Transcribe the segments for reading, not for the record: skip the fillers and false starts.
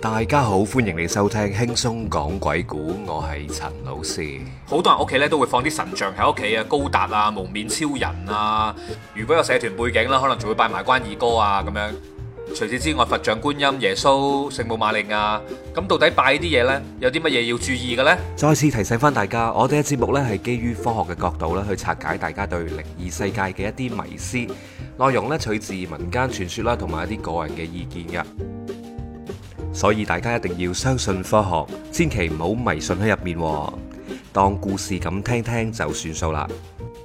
大家好，歡迎你收聽輕鬆講鬼故，我係陳老師。 好多人屋企咧都會放啲神像喺屋企啊，高達啊、蒙面超人啊。如果有社團背景啦，可能仲會拜埋關二哥啊咁樣。除此之外，佛像、觀音、耶穌、聖母瑪利亞，咁到底拜呢啲嘢呢，有啲乜嘢要注意嘅呢？ 再次提醒翻大家，我哋嘅節目呢係基於科學嘅角度咧去拆解大家對靈異世界嘅一啲迷思，內容咧取自民間傳說啦，同埋一啲個人嘅意見嘅。所以大家一定要相信科學，千祈唔好迷信喺入面，當故事咁聽聽就算數啦。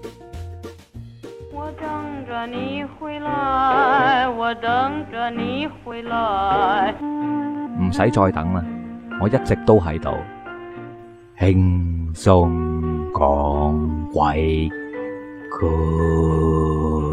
我等着你回來，我等着你回來。 唔使再等啦，我一直都喺度，輕鬆講鬼故。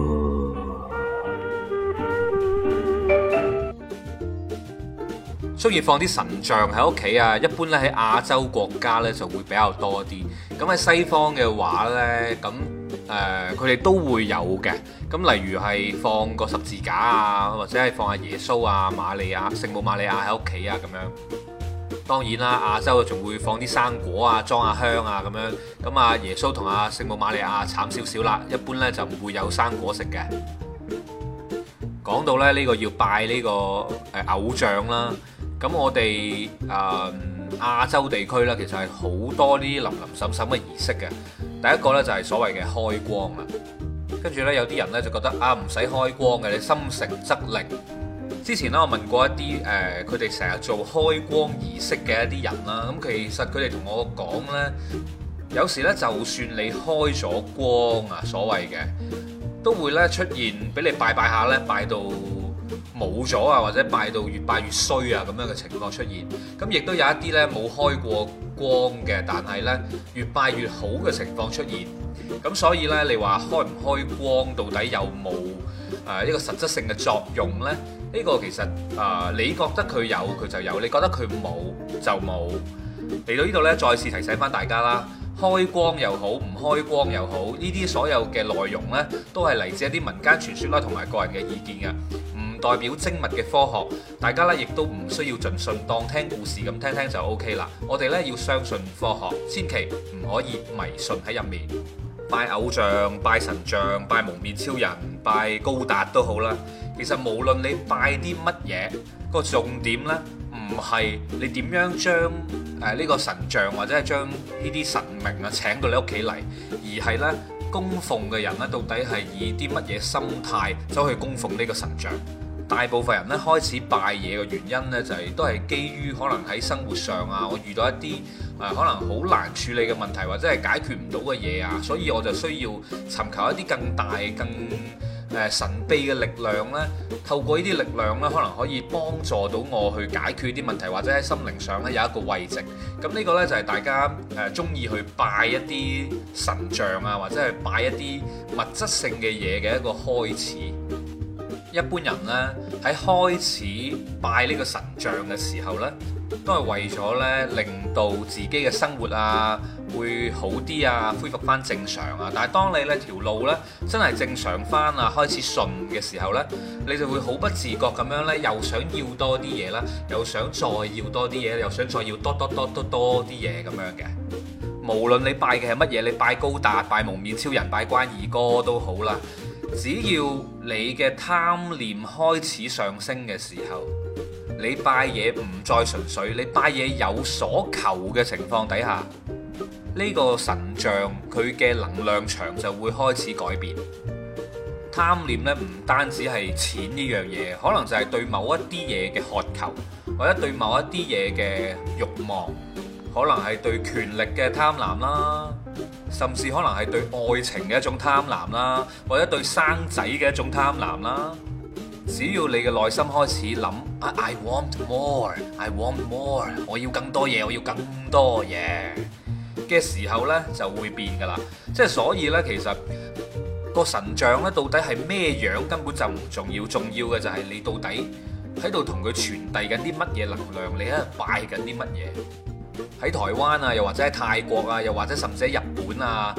中意放啲神像喺屋企啊，一般咧喺亞洲國家咧就會比較多啲。咁喺西方嘅話呢，咁佢哋都會有嘅。咁例如係放個十字架啊，或者係放下耶穌啊、瑪利亞、聖母瑪利亞喺屋企啊咁樣。當然啦，亞洲仲會放啲生果啊，裝下香啊咁樣。咁啊，耶穌同阿聖母瑪利亞慘少少啦，一般呢就唔會有生果食嘅。講到咧呢個要拜呢個偶像啦。咁我哋亞洲地區呢，其實係好多啲林林沈沈嘅儀式嘅。第一個呢，就係所謂嘅開光啦，跟住呢，有啲人呢，就覺得啊唔使開光嘅，你心誠則靈。之前呢，我問過一啲佢哋成日做開光儀式嘅一啲人啦，咁其實佢哋同我講呢，有時呢，就算你開咗光啊，所謂嘅都會呢出現俾你拜拜下呢，拜到冇咗啊，或者拜到越拜越衰啊咁樣嘅情況出現。咁亦都有一啲呢冇開過光嘅，但係呢越拜越好嘅情況出現。咁所以呢，你話開唔開光到底有冇一個實質性嘅作用呢？呢個其實你覺得佢有佢就有，你覺得佢冇就冇。嚟到呢度呢，再次提醒翻大家啦，開光又好，唔開光又好，呢啲所有嘅內容呢，都係嚟自一啲民間傳說啦，同埋個人嘅意見嘅。代表精密嘅科學，大家咧亦都唔需要盡信，當聽故事咁聽聽就 OK 啦。我哋咧要相信科學，千祈唔可以迷信喺入面。拜偶像、拜神像、拜蒙面超人、拜高達都好啦。其實無論你拜啲乜嘢，個重點呢唔係你點樣將呢個神像或者係將呢啲神明啊請到你屋企嚟，而係呢供奉嘅人呢到底係以啲乜嘢心態走去供奉呢個神像。大部分人咧開始拜嘢嘅原因呢，就係都係基於可能喺生活上啊，我遇到一啲可能好難處理嘅問題，或者係解決唔到嘅嘢啊，所以我就需要尋求一啲更大、更神秘嘅力量呢。透過呢啲力量呢，可能可以幫助到我去解決啲問題，或者喺心靈上呢有一個慰藉。咁呢個呢，就係大家中意去拜一啲神像啊，或者係拜一啲物質性嘅嘢嘅一個開始。一般人呢，喺開始拜呢個神像嘅時候呢，都係為咗呢令到自己嘅生活啊會好啲啊，恢復翻正常啊。但係當你呢條路呢真係正常翻啊，開始順嘅時候呢，你就會好不自覺咁樣呢，又想要多啲嘢啦，又想再要多啲嘢，又想再要多啲嘢咁樣嘅。無論你拜嘅係乜嘢，你拜高達、拜蒙面超人、拜關二哥都好啦。只要你嘅貪念開始上升嘅時候，你拜嘢唔再純粹，你拜嘢有所求嘅情況底下，呢個神像佢嘅能量場就會開始改變。貪念呢唔單止係錢呢樣嘢，可能就係對某一啲嘢嘅渴求，或者對某一啲嘢嘅慾望，可能係對權力嘅貪婪啦，甚至可能係對愛情嘅一種貪婪啦，或者對生仔嘅一種貪婪啦。只要你嘅內心開始諗I want more， I want more， 我要更多嘢，我要更多嘢嘅時候呢，就會變噶啦。即係所以呢，其實個神像呢，到底係咩樣根本就唔重要，重要嘅就係你到底喺度同佢傳遞緊啲乜嘢能量，你喺度拜緊啲乜嘢。喺台灣啊，又或者喺泰國啊，又或者甚至喺日本啊，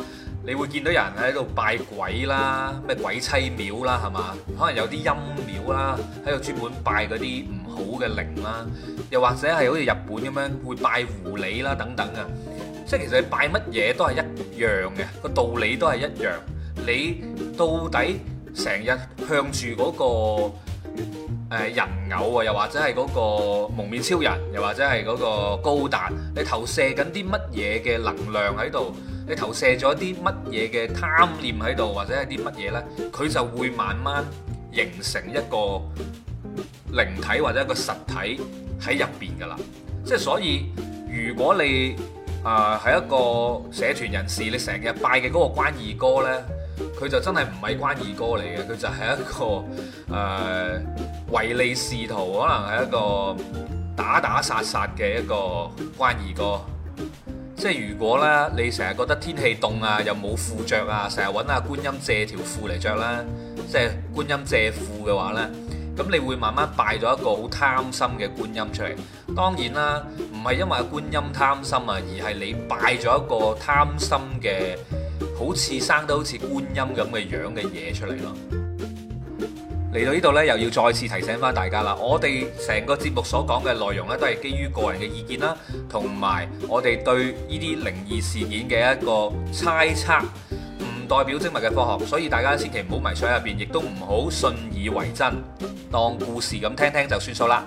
你會見到有人喺度拜鬼啦，咩鬼妻廟啦，係嘛？可能有啲陰廟啦，喺度專門拜嗰啲唔好嘅靈啦，又或者係好似日本咁樣會拜狐狸啦等等啊。即係其實你拜乜嘢都係一樣嘅，個道理都係一樣。你到底成日向住嗰個人偶啊，又或者係嗰個蒙面超人，又或者係嗰個高達，你投射緊啲乜嘢嘅能量喺度？你投射咗啲乜嘢嘅貪念喺度，或者係啲乜嘢呢？佢就會慢慢形成一個靈體或者一個實體喺入邊㗎啦。即係所以，如果你係一個社團人士，你成日拜嘅嗰個關二哥呢，佢就真係唔係關二哥嚟嘅，佢就係一個唯利是圖，可能係一個打打殺殺嘅一個關二哥。即係如果咧，你成日覺得天氣凍啊，又冇褲着啊，成日揾阿觀音借條褲嚟着啦，即係觀音借褲嘅話呢，咁你會慢慢拜咗一個好貪心嘅觀音出嚟。當然啦，唔係因為阿觀音貪心啊，而係你拜咗一個貪心嘅，好似生得好似觀音咁嘅樣嘅嘢出嚟咯。嚟到呢度呢，又要再次提醒翻大家啦，我哋成個節目所講嘅內容呢，都係基於個人嘅意見啦，同埋我哋對呢啲靈異事件嘅一個猜測，唔代表精密嘅科學，所以大家千祈唔好迷上入邊，亦都唔好信以為真，當故事咁聽聽就算數啦。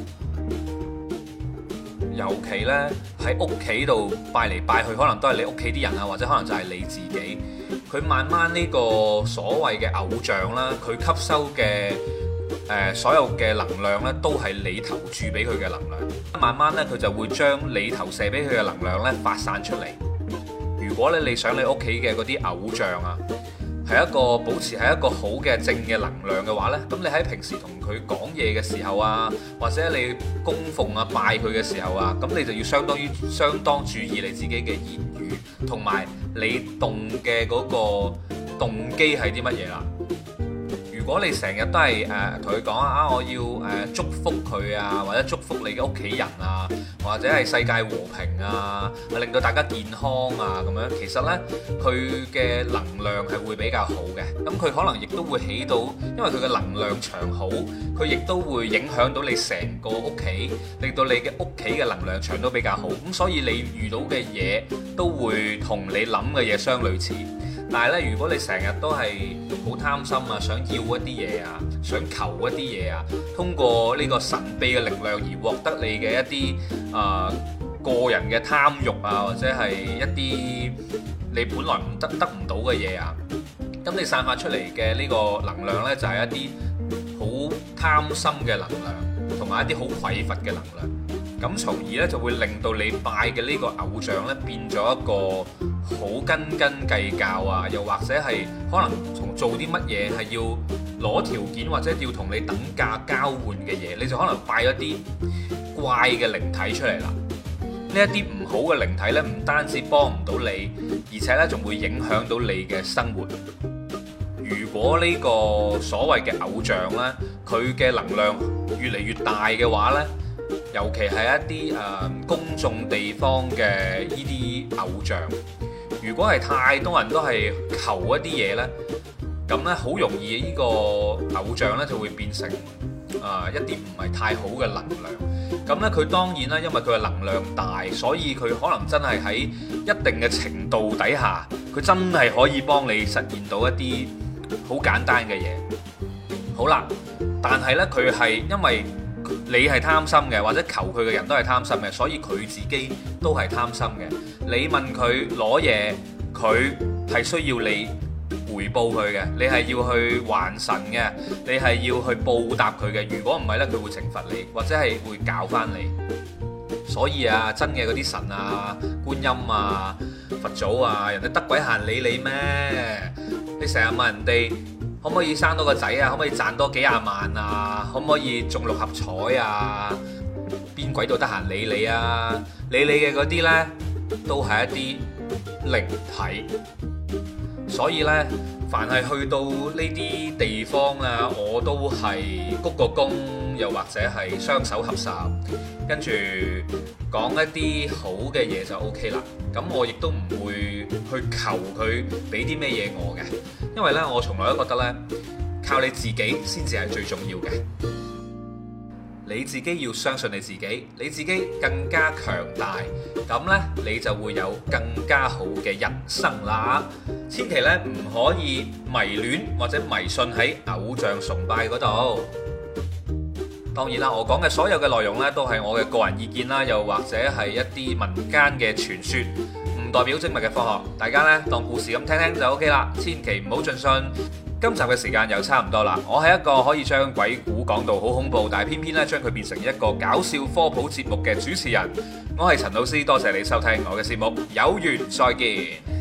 尤其呢，喺屋企度拜嚟拜去，可能都係你屋企啲人啊，或者可能就係你自己。佢慢慢呢個所謂嘅偶像啦，佢吸收嘅所有嘅能量呢，都係你投注俾佢嘅能量。慢慢呢，佢就會將你投射俾佢嘅能量呢發散出嚟。如果咧你想你屋企嘅嗰啲偶像啊，係一個保持係一個好嘅正嘅能量嘅話呢，咁你喺平時同佢講嘢嘅時候啊，或者你供奉啊拜佢嘅時候啊，咁你就要相當注意你自己嘅言語，同埋你動嘅嗰個動機係啲乜嘢啦。如果你成日都係同佢講啊，我要祝福佢啊，或者祝福你嘅屋企人啊，或者係世界和平啊，令到大家健康啊咁樣，其實呢，佢嘅能量係會比較好嘅。咁佢可能亦都會起到，因為佢嘅能量場好，佢亦都會影響到你成個屋企，令到你嘅屋企嘅能量場都比較好。咁所以你遇到嘅嘢都會同你諗嘅嘢相類似。但係咧，如果你成日都係好貪心啊，想要一啲嘢啊，想求一啲嘢啊，通過呢個神秘嘅力量而獲得你嘅一啲個人嘅貪慾啊，或者係一啲你本來得唔到嘅嘢啊，咁你散發出嚟嘅呢個能量呢，就係一啲好貪心嘅能量，同埋一啲好匱乏嘅能量。咁從而咧就會令到你拜嘅呢個偶像咧變咗一個好斤斤計較啊，又或者係可能從做啲乜嘢係要攞條件或者要同你等價交換嘅嘢，你就可能拜咗啲怪嘅靈體出嚟啦。呢一啲唔好嘅靈體咧，唔單止幫唔到你，而且咧仲會影響到你嘅生活。如果呢個所謂嘅偶像咧，佢嘅能量越嚟越大嘅話咧，尤其係一啲公眾地方嘅呢啲偶像，如果係太多人都係求一啲嘢呢，咁呢好容易呢個偶像呢就會變成一啲唔係太好嘅能量。咁呢佢當然啦，因為佢嘅能量大，所以佢可能真係喺一定嘅程度底下，佢真係可以幫你實現到一啲好簡單嘅嘢。好啦，但係呢，佢係因為你係貪心嘅，或者求佢嘅人都係貪心嘅，所以佢自己都係貪心嘅。你問佢攞嘢，佢係需要你回報佢嘅，你係要去還神嘅，你係要去報答佢嘅。如果唔係呢，佢會懲罰你，或者係會教翻你。所以啊，真嘅嗰啲神啊、觀音啊、佛祖啊，人哋得鬼閒理你咩？你成日問人哋可唔可以生多個仔啊？可唔可以賺多幾廿萬啊？可唔可以中六合彩啊？邊鬼都得閒理你啊！理你嘅嗰啲呢，都係一啲靈體。所以呢，凡係去到呢啲地方啊，我都係鞠個躬， 又或者係雙手合十，跟住講一啲好嘅嘢就 OK 啦。咁我亦都唔會去求佢俾啲咩嘢我嘅，因為呢，我從來都覺得呢，靠你自己先至係最重要嘅。你自己要相信你自己，你自己更加強大，咁呢，你就會有更加好嘅人生啦。千祈呢，唔可以迷戀或者迷信喺偶像崇拜嗰度。當然啦，我講嘅所有嘅內容呢，都係我嘅個人意見啦，又或者係一啲民間嘅傳說，唔代表精密嘅科學。大家呢，當故事咁聽聽就 OK 啦，千祈唔好盡信。今集嘅時間又差唔多啦，我係一個可以將鬼故講到好恐怖，但係偏偏咧將佢變成一個搞笑科普節目嘅主持人。我係陳老師，多謝你收聽我嘅節目，有緣再見。